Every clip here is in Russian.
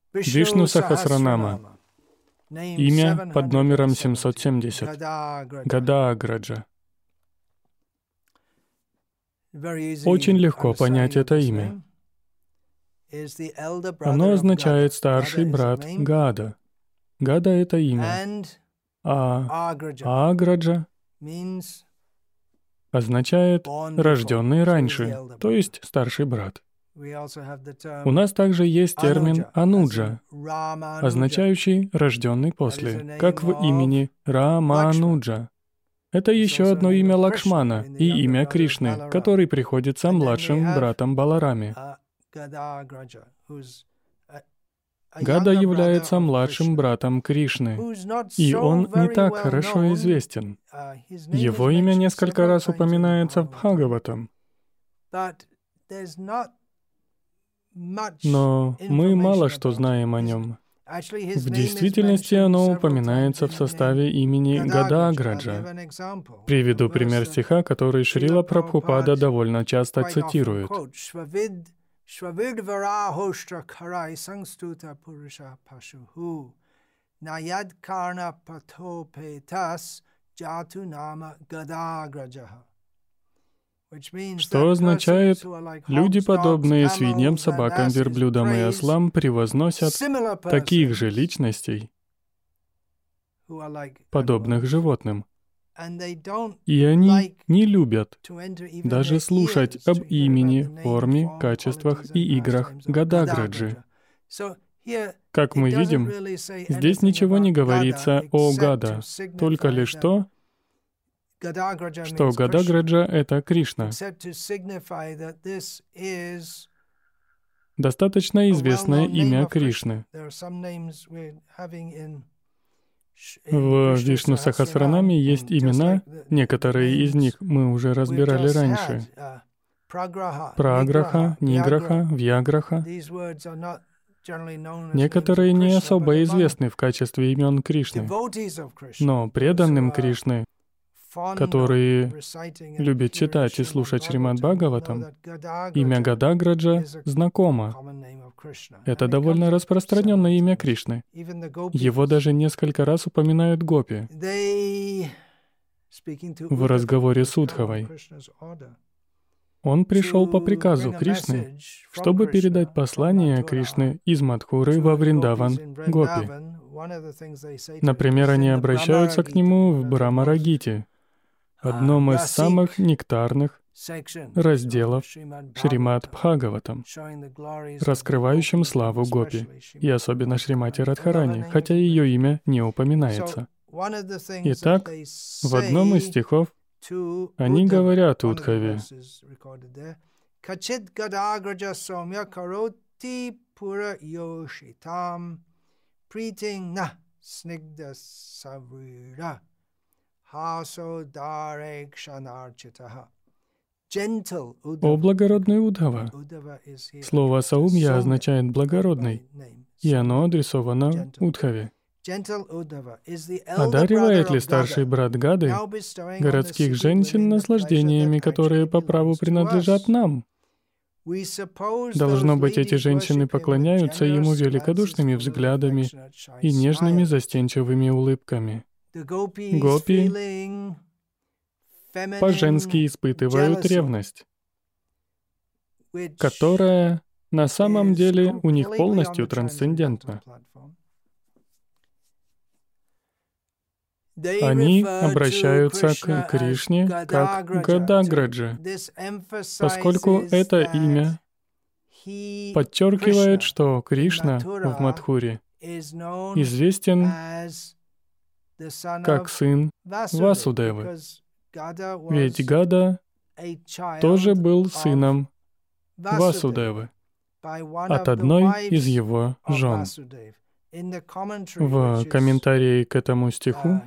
Вишну Сахасранама. Имя под номером 770. Гадааграджа. Очень легко понять это имя. Оно означает «старший брат Гада». Гада — это имя. А Аграджа означает «рожденный раньше», то есть «старший брат». У нас также есть термин «ануджа», означающий «рожденный после», как в имени Рамануджа. Это еще одно имя Лакшмана и имя Кришны, который приходится младшим братом Балараме. Гада является младшим братом Кришны, и он не так хорошо известен. Его имя несколько раз упоминается в Бхагаватам. Но мы мало что знаем о нем. В действительности оно упоминается в составе имени Гадааграджа. Приведу пример стиха, который Шрила Прабхупада довольно часто цитирует. Что означает, люди, подобные свиньям, собакам, верблюдам и ослам, превозносят таких же личностей, подобных животным. И они не любят даже слушать об имени, форме, качествах и играх Гадааграджи. Как мы видим, здесь ничего не говорится о Гада, только лишь то, что Гадааграджа — это Кришна. Достаточно известное имя Кришны. В Вишну Сахасранаме есть имена, некоторые из них мы уже разбирали раньше. Праграха, Ниграха, Вьяграха. Некоторые не особо известны в качестве имен Кришны, но преданным Кришны, которые любят читать и слушать Шримад Бхагаватам, имя Гадааграджа знакомо. Это довольно распространенное имя Кришны. Его даже несколько раз упоминают гопи в разговоре с Удхавой. Он пришел по приказу Кришны, чтобы передать послание Кришны из Мадхуры во Вриндаван гопи. Например, они обращаются к нему в Брамарагите, одном из самых нектарных разделов Шримад Бхагаватам, раскрывающим славу гопи, и особенно Шримати Радхарани, хотя ее имя не упоминается. Итак, в одном из стихов они говорят Удхаве: «Качид гадаграджа сомья кароти пура йошитам притинг на снигда савира хасо дарек шанарчитаха». «О благородный Удхава». Слово «саумья» означает «благородный», и оно адресовано Удхаве. Одаривает ли старший брат Гады городских женщин наслаждениями, которые по праву принадлежат нам? Должно быть, эти женщины поклоняются ему великодушными взглядами и нежными застенчивыми улыбками. Гопи по-женски испытывают ревность, которая на самом деле у них полностью трансцендентна. Они обращаются к Кришне как к Гадааграджа, поскольку это имя подчеркивает, что Кришна в Мадхуре известен как сын Васудевы. Ведь Гада тоже был сыном Васудевы от одной из его жен. В комментарии к этому стиху,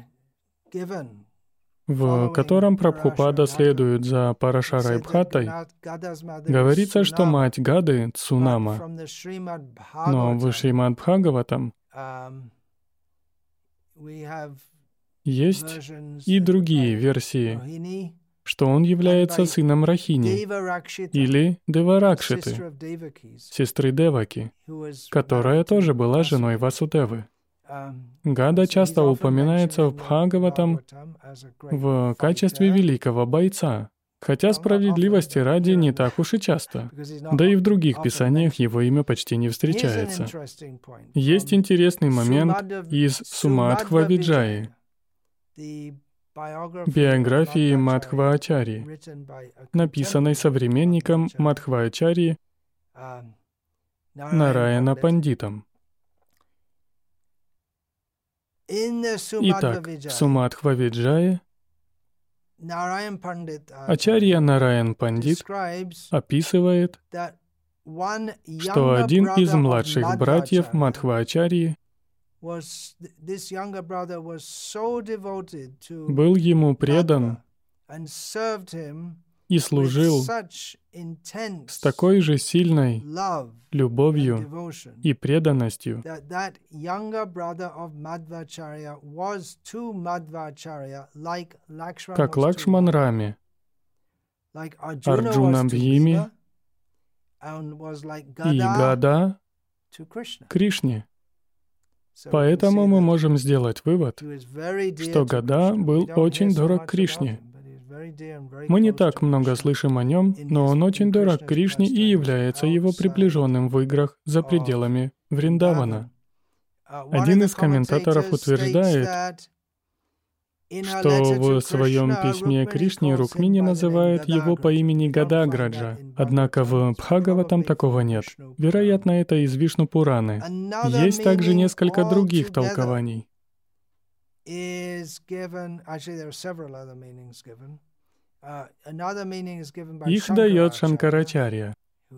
в котором Прабхупада следует за Парашарай Бхаттой, говорится, что мать Гады — Цунама. Но в Шримад Бхагаватам есть и другие версии что он является сыном Рахини или Деваракшиты, сестры Деваки, которая тоже была женой Васудевы. Гада часто упоминается в Бхагаватам в качестве великого бойца, хотя справедливости ради не так уж и часто. Да и в других писаниях его имя почти не встречается. Есть интересный момент из Сумадхва-виджаи, биографии Мадхва-ачарьи, написанной современником Мадхва-ачарьи Нараяна Пандитом. Итак, в Сумадхва-виджае Ачарья Нараян Пандит описывает, что один из младших братьев Мадхва-ачарьи был ему предан и служил с такой же сильной любовью и преданностью, как Лакшман Раме, Арджуна Бхиме и Гада Кришне. Поэтому мы можем сделать вывод, что Гада был очень дорог Кришне. Мы не так много слышим о нем, но он очень дорог Кришне и является его приближенным в играх за пределами Вриндавана. Один из комментаторов утверждает, что в своем письме Кришне Рукмини называет его по имени Гадаграджа, однако в Бхагаватам такого нет. Вероятно, это из Вишну Пураны. Есть также несколько других толкований. Их дает Шанкарачарья,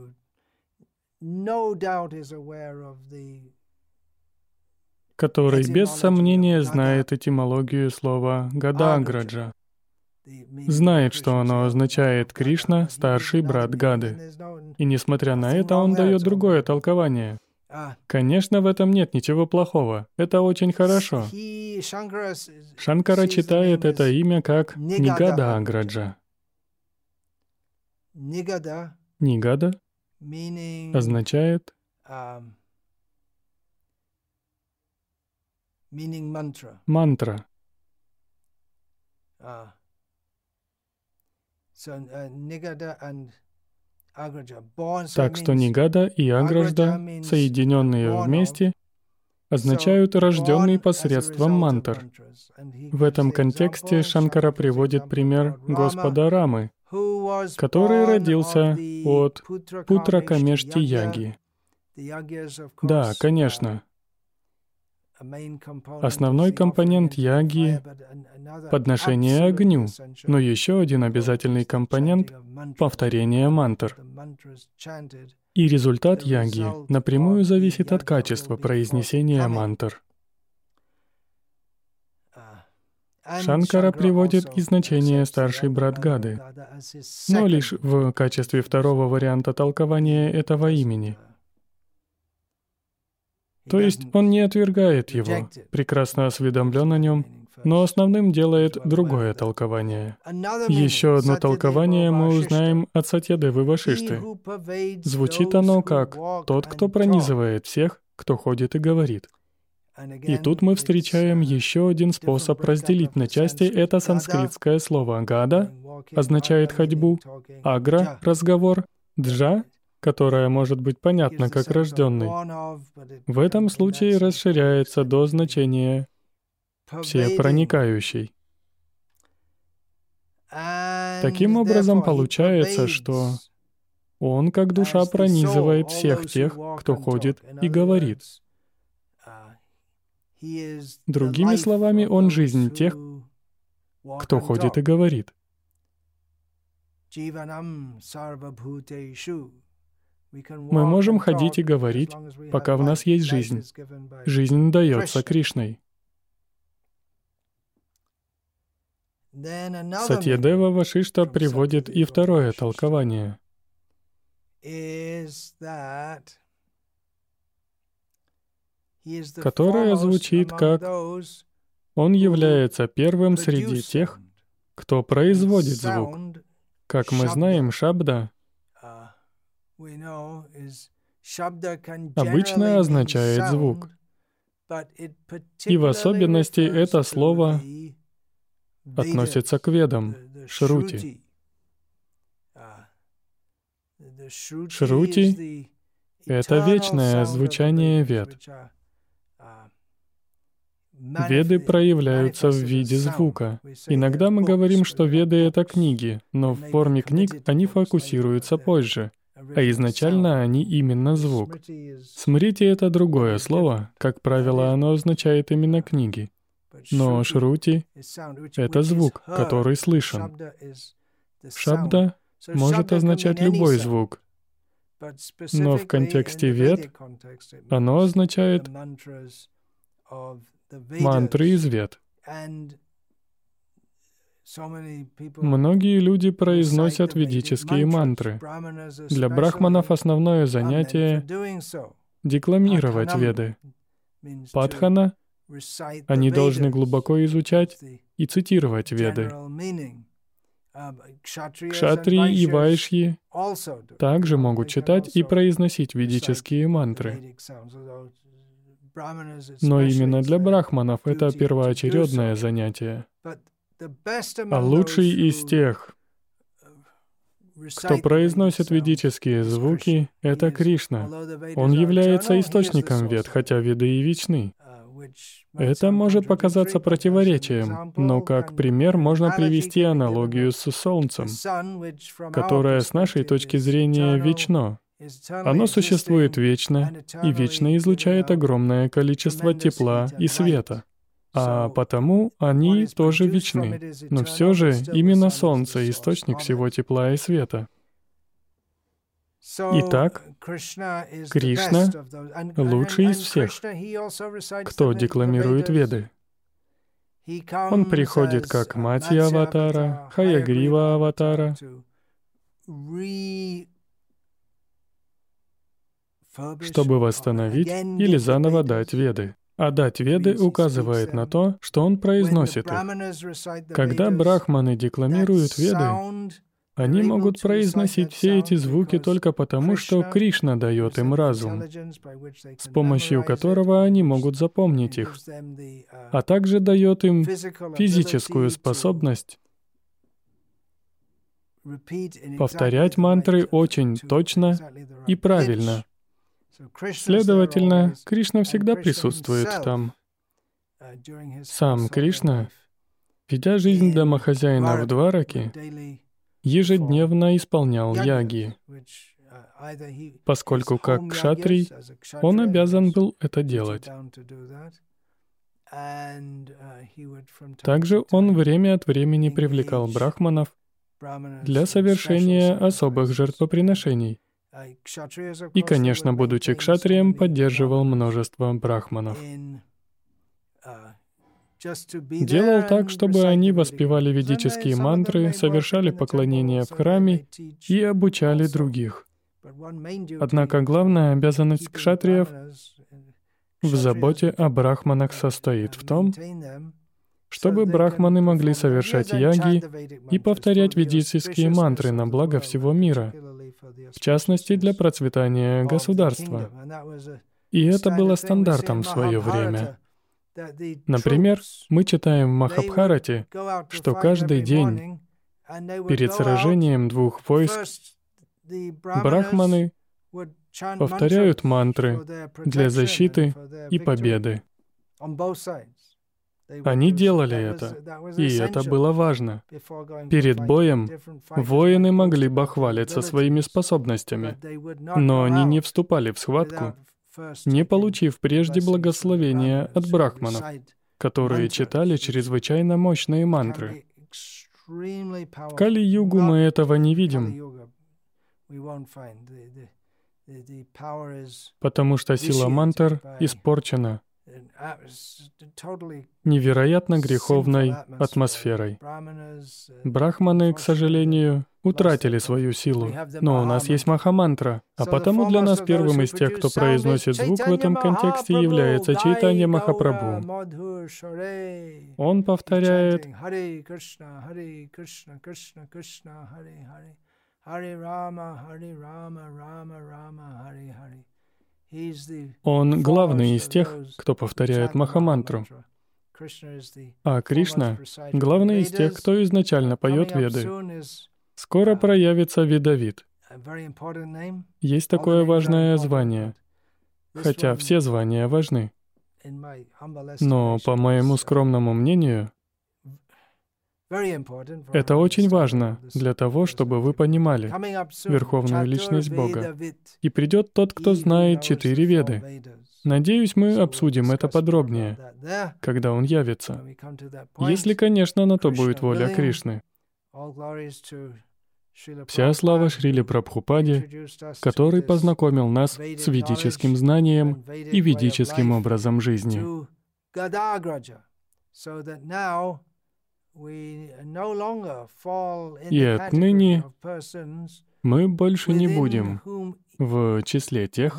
который без сомнения знает этимологию слова «Гадаграджа», знает, что оно означает «Кришна, старший брат Гады». И несмотря на это, он дает другое толкование. Конечно, в этом нет ничего плохого. Это очень хорошо. Шанкара читает это имя как Нигадаграджа. Нигада означает мантра. Так что Нигада и Агражда, соединенные вместе, означают «рожденный посредством мантр». В этом контексте Шанкара приводит пример Господа Рамы, который родился от Путракамешти-яги. Да, конечно. Основной компонент яги — подношение огню, но еще один обязательный компонент — повторение мантр. И результат яги напрямую зависит от качества произнесения мантр. Шанкара приводит и значение «старший брат Гады», но лишь в качестве второго варианта толкования этого имени. То есть он не отвергает его, прекрасно осведомлен о нем, но основным делает другое толкование. Еще одно толкование мы узнаем от Сатьядевы Вашишты. Звучит оно как «тот, кто пронизывает всех, кто ходит и говорит». И тут мы встречаем еще один способ разделить на части это санскритское слово «гада» означает ходьбу, «агра» — разговор, «джа», которая может быть понятна как рожденный. В этом случае расширяется до значения «всепроникающий». Таким образом, получается, что он как душа пронизывает всех тех, кто ходит и говорит. Другими словами, он жизнь тех, кто ходит и говорит. Мы можем ходить и говорить, пока в нас есть жизнь. Жизнь дается Кришной. Сатьядева Вашишта приводит и второе толкование. Которое звучит как «Он является первым среди тех, кто производит звук. Как мы знаем, шабда обычно означает звук. И в особенности это слово относится к ведам, шрути. Шрути — это вечное звучание вед. Веды проявляются в виде звука. Иногда мы говорим, что веды — это книги, но в форме книг они фокусируются позже, а изначально они именно звук. Смрити — это другое слово, как правило, оно означает именно книги. Но шрути — это звук, который слышен. Шабда может означать любой звук, но в контексте вед оно означает мантры из вед. Многие люди произносят ведические мантры. Для брахманов основное занятие — декламировать веды. Падхана — они должны глубоко изучать и цитировать веды. Кшатрии и вайшьи также могут читать и произносить ведические мантры. Но именно для брахманов это первоочередное занятие. А лучший из тех, кто произносит ведические звуки, это Кришна. Он является источником вед, хотя веды и вечны. Это может показаться противоречием, но как пример можно привести аналогию с Солнцем, которое с нашей точки зрения вечно. Оно существует вечно и вечно излучает огромное количество тепла и света. А потому они тоже вечны. Но все же именно Солнце — источник всего тепла и света. Итак, Кришна — лучший из всех, кто декламирует веды. Он приходит как Матья аватара, Хаягрива аватара, чтобы восстановить или заново дать веды. А дать веды указывает на то, что он произносит их. Когда брахманы декламируют веды, они могут произносить все эти звуки только потому, что Кришна дает им разум, с помощью которого они могут запомнить их, а также дает им физическую способность повторять мантры очень точно и правильно. Следовательно, Кришна всегда присутствует там. Сам Кришна, ведя жизнь домохозяина в Двараке, ежедневно исполнял яги, поскольку как кшатрий он обязан был это делать. Также он время от времени привлекал брахманов для совершения особых жертвоприношений. И, конечно, будучи кшатрием, поддерживал множество брахманов. Делал так, чтобы они воспевали ведические мантры, совершали поклонения в храме и обучали других. Однако главная обязанность кшатриев в заботе о брахманах состоит в том, чтобы брахманы могли совершать яги и повторять ведические мантры на благо всего мира, в частности, для процветания государства. И это было стандартом в свое время. Например, мы читаем в Махабхарате, что каждый день перед сражением двух войск брахманы повторяют мантры для защиты и победы. Они делали это, и это было важно. Перед боем воины могли бахвалиться своими способностями, но они не вступали в схватку, не получив прежде благословения от брахманов, которые читали чрезвычайно мощные мантры. В Кали-югу мы этого не видим, потому что сила мантр испорчена, невероятно греховной атмосферой. Брахманы, к сожалению, утратили свою силу, но у нас есть Махамантра, а потому для нас первым из тех, кто произносит звук в этом контексте, является Чайтанья Махапрабху. Он повторяет Харе Кришна, Харе Кришна, Кришна Кришна, Харе Харе, Харе Рама, Рама Рама, Харе Харе. Он главный из тех, кто повторяет Махамантру. А Кришна — главный из тех, кто изначально поет Веды. Скоро проявится Ведавид. Есть такое важное звание, хотя все звания важны. Но, по моему скромному мнению, это очень важно для того, чтобы вы понимали Верховную Личность Бога. И придет тот, кто знает 4 Веды. Надеюсь, мы обсудим это подробнее, когда он явится. Если, конечно, на то будет воля Кришны. Вся слава Шриле Прабхупаде, который познакомил нас с ведическим знанием и ведическим образом жизни. И отныне мы больше не будем в числе тех,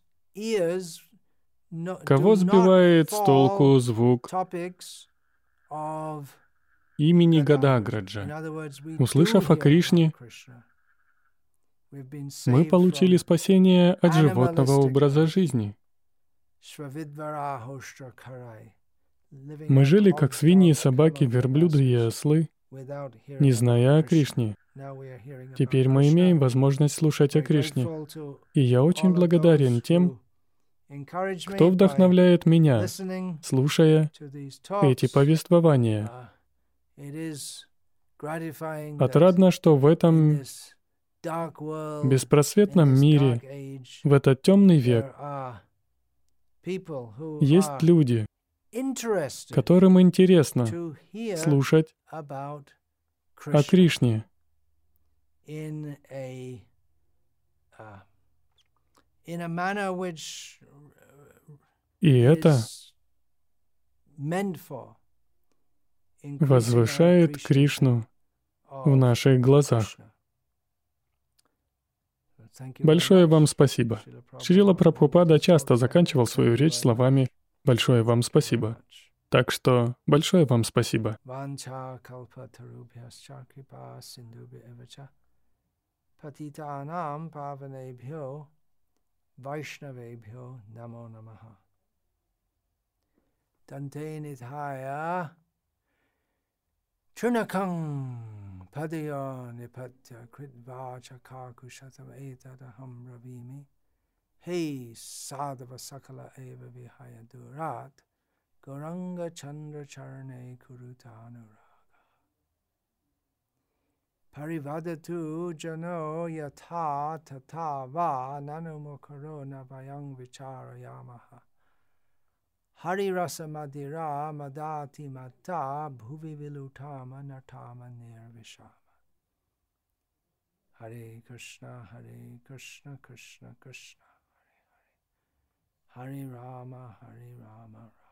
кого сбивает с толку звук имени Гадаграджа. Услышав о Кришне, мы получили спасение от животного образа жизни. Мы жили как свиньи, собаки, верблюды и ослы, не зная о Кришне. Теперь мы имеем возможность слушать о Кришне. И я очень благодарен тем, кто вдохновляет меня, слушая эти повествования. Отрадно, что в этом беспросветном мире, в этот темный век, есть люди, которым интересно слушать о Кришне. И это возвышает Кришну в наших глазах. Большое вам спасибо. Шрила Прабхупада часто заканчивал свою речь словами «Большое вам спасибо». Так что большое вам спасибо. Chunakang padaya nipatya kritva chakar kushatam etadaham ravimi hey sadhava sakala eva vihaya durat Gauranga Chandra Charane Kurutanuraga Parivadatu Jano Yatha Tata Va Nanumukaro Navayang Vichara Yamaha Hari Rasa Madira Madati Mata Bhuvi Vilutama Natama Nirvishama Hare Krishna Krishna Krishna Krishna Hare Hare Hare Rama